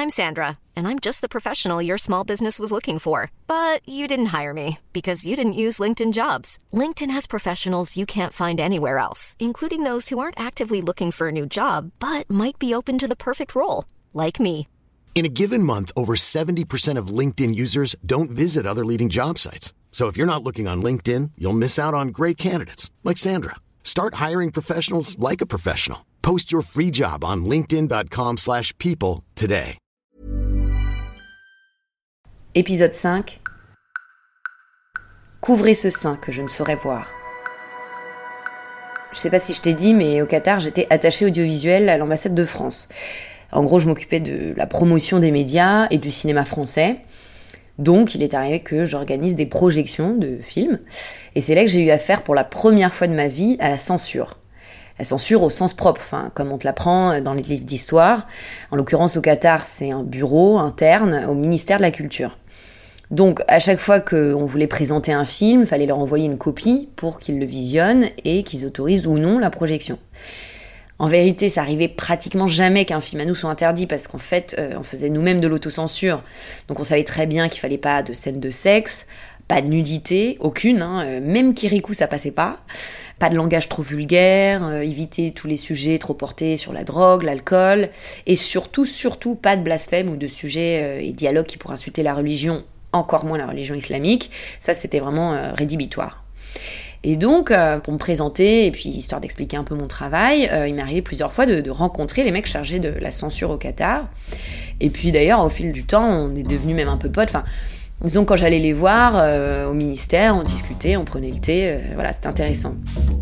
I'm Sandra, and I'm just the professional your small business was looking for. But you didn't hire me because you didn't use LinkedIn Jobs. LinkedIn has professionals you can't find anywhere else, including those who aren't actively looking for a new job, but might be open to the perfect role, like me. In a given month, over 70% of LinkedIn users don't visit other leading job sites. So if you're not looking on LinkedIn, you'll miss out on great candidates like Sandra. Start hiring professionals like a professional. Post your free job on linkedin.com/people today. Épisode 5. Couvrez ce sein que je ne saurais voir. Je sais pas si je t'ai dit, mais au Qatar, j'étais attachée audiovisuelle à l'ambassade de France. En gros, je m'occupais de la promotion des médias et du cinéma français. Donc, il est arrivé que j'organise des projections de films. Et c'est là que j'ai eu affaire pour la première fois de ma vie à la censure. La censure au sens propre, comme on te l'apprend dans les livres d'histoire. En l'occurrence, au Qatar, c'est un bureau interne au ministère de la Culture. Donc, à chaque fois qu'on voulait présenter un film, il fallait leur envoyer une copie pour qu'ils le visionnent et qu'ils autorisent ou non la projection. En vérité, ça arrivait pratiquement jamais qu'un film à nous soit interdit parce qu'en fait, on faisait nous-mêmes de l'autocensure. Donc on savait très bien qu'il fallait pas de scènes de sexe, pas de nudité, aucune, même Kirikou ça passait pas. Pas de langage trop vulgaire, éviter tous les sujets trop portés sur la drogue, l'alcool, et surtout pas de blasphème ou de sujets et dialogues qui pourraient insulter la religion, encore moins la religion islamique. Ça, c'était vraiment rédhibitoire. Et donc, pour me présenter, et puis histoire d'expliquer un peu mon travail, il m'est arrivé plusieurs fois de rencontrer les mecs chargés de la censure au Qatar. Et puis d'ailleurs, au fil du temps, on est devenus même un peu potes. Disons, quand j'allais les voir au ministère, on discutait, on prenait le thé, voilà, c'était intéressant.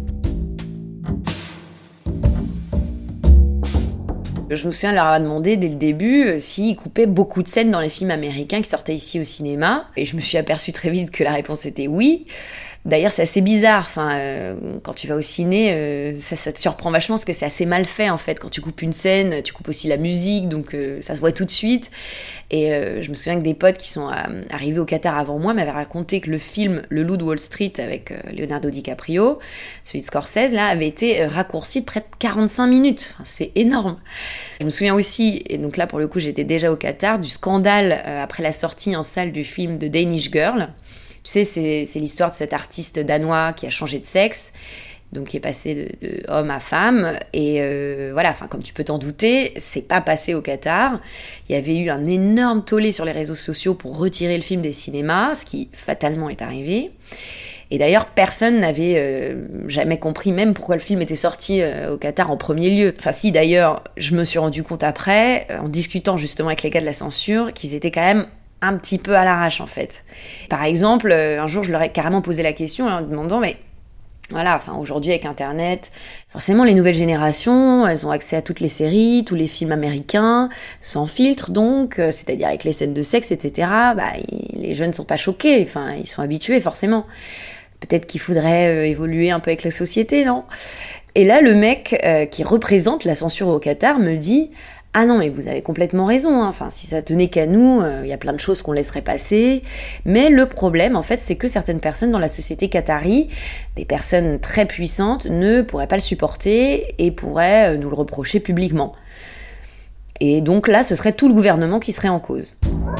Je me souviens leur avoir demandé dès le début s'ils coupaient beaucoup de scènes dans les films américains qui sortaient ici au cinéma. Et je me suis aperçue très vite que la réponse était oui. D'ailleurs, c'est assez bizarre. Quand tu vas au ciné, ça te surprend vachement parce que c'est assez mal fait en fait. Quand tu coupes une scène, tu coupes aussi la musique, donc ça se voit tout de suite. Et je me souviens que des potes qui sont arrivés au Qatar avant moi m'avaient raconté que le film Le Loup de Wall Street avec Leonardo DiCaprio, celui de Scorsese, là, avait été raccourci de près de 45 minutes. C'est énorme. Je me souviens aussi, et donc là pour le coup j'étais déjà au Qatar, du scandale après la sortie en salle du film The Danish Girl. Tu sais, c'est l'histoire de cet artiste danois qui a changé de sexe, donc qui est passé de homme à femme. Et voilà, comme tu peux t'en douter, c'est pas passé au Qatar. Il y avait eu un énorme tollé sur les réseaux sociaux pour retirer le film des cinémas, ce qui fatalement est arrivé. Et d'ailleurs, personne n'avait jamais compris même pourquoi le film était sorti au Qatar en premier lieu. Si, d'ailleurs, je me suis rendu compte après, en discutant justement avec les gars de la censure, qu'ils étaient quand même un petit peu à l'arrache en fait. Par exemple, un jour je leur ai carrément posé la question en leur demandant mais voilà, aujourd'hui avec internet, forcément les nouvelles générations, elles ont accès à toutes les séries, tous les films américains, sans filtre donc, c'est-à-dire avec les scènes de sexe, etc. Les jeunes sont pas choqués, ils sont habitués forcément. Peut-être qu'il faudrait évoluer un peu avec la société, non ? Et là, le mec qui représente la censure au Qatar me dit « Ah non, mais vous avez complètement raison, si ça tenait qu'à nous, y a plein de choses qu'on laisserait passer. Mais le problème, en fait, c'est que certaines personnes dans la société qatari, des personnes très puissantes, ne pourraient pas le supporter et pourraient nous le reprocher publiquement. Et donc là, ce serait tout le gouvernement qui serait en cause. »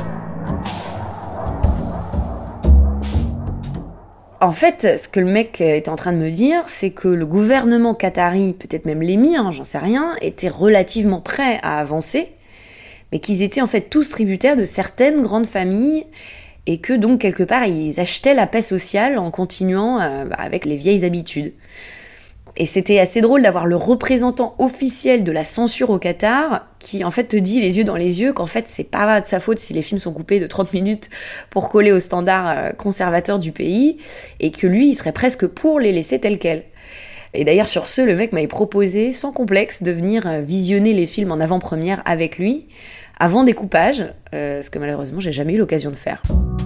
En fait, ce que le mec était en train de me dire, c'est que le gouvernement qatari, peut-être même l'émir, j'en sais rien, était relativement prêt à avancer, mais qu'ils étaient en fait tous tributaires de certaines grandes familles, et que donc quelque part ils achetaient la paix sociale en continuant avec les vieilles habitudes. Et c'était assez drôle d'avoir le représentant officiel de la censure au Qatar qui en fait te dit les yeux dans les yeux qu'en fait c'est pas de sa faute si les films sont coupés de 30 minutes pour coller aux standards conservateurs du pays et que lui il serait presque pour les laisser tels quels. Et d'ailleurs sur ce, le mec m'avait proposé sans complexe de venir visionner les films en avant-première avec lui avant découpage, ce que malheureusement j'ai jamais eu l'occasion de faire.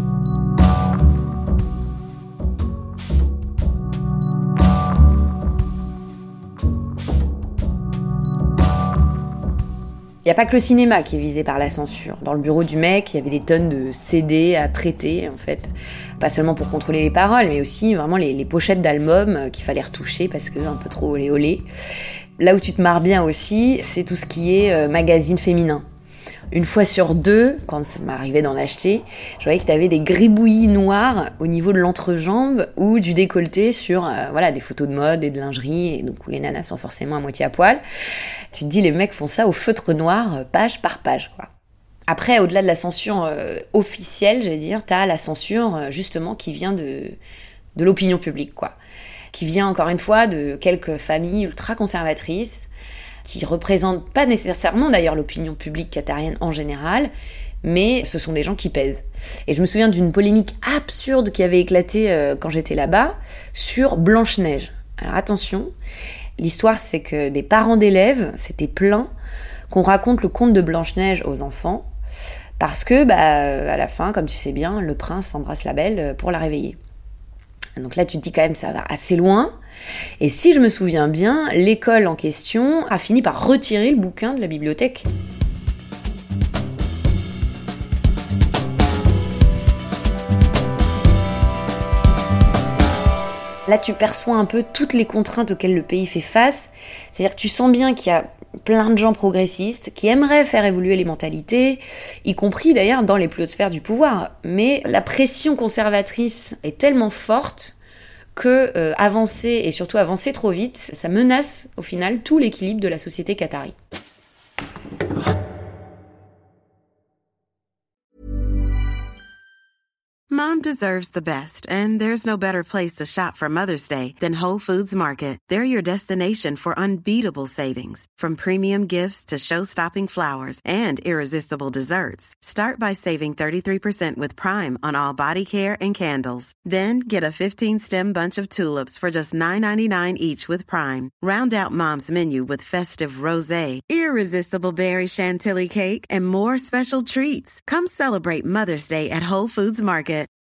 Il n'y a pas que le cinéma qui est visé par la censure. Dans le bureau du mec, il y avait des tonnes de CD à traiter, en fait. Pas seulement pour contrôler les paroles, mais aussi vraiment les pochettes d'albums qu'il fallait retoucher parce que un peu trop olé olé. Là où tu te marres bien aussi, c'est tout ce qui est magazine féminin. Une fois sur deux, quand ça m'arrivait d'en acheter, je voyais que t'avais des gribouillis noirs au niveau de l'entrejambe ou du décolleté sur des photos de mode et de lingerie, et donc où les nanas sont forcément à moitié à poil. Tu te dis, les mecs font ça au feutre noir, page par page, quoi. Après, au-delà de la censure officielle, t'as la censure justement qui vient de l'opinion publique, quoi. Qui vient encore une fois de quelques familles ultra conservatrices, qui représentent pas nécessairement d'ailleurs l'opinion publique qatarienne en général, mais ce sont des gens qui pèsent. Et je me souviens d'une polémique absurde qui avait éclaté quand j'étais là-bas sur Blanche-Neige. Alors attention, l'histoire c'est que des parents d'élèves s'étaient plaints qu'on raconte le conte de Blanche-Neige aux enfants, parce que à la fin, comme tu sais bien, le prince embrasse la belle pour la réveiller. Donc là, tu te dis quand même, ça va assez loin. Et si je me souviens bien, l'école en question a fini par retirer le bouquin de la bibliothèque. Là, tu perçois un peu toutes les contraintes auxquelles le pays fait face. C'est-à-dire que tu sens bien qu'il y a plein de gens progressistes qui aimeraient faire évoluer les mentalités, y compris d'ailleurs dans les plus hautes sphères du pouvoir. Mais la pression conservatrice est tellement forte que avancer, et surtout avancer trop vite, ça menace au final tout l'équilibre de la société qatari. Mom deserves the best, and there's no better place to shop for Mother's Day than Whole Foods Market. They're your destination for unbeatable savings, from premium gifts to show-stopping flowers and irresistible desserts. Start by saving 33% with Prime on all body care and candles. Then get a 15-stem bunch of tulips for just $9.99 each with Prime. Round out Mom's menu with festive rosé, irresistible berry chantilly cake, and more special treats. Come celebrate Mother's Day at Whole Foods Market.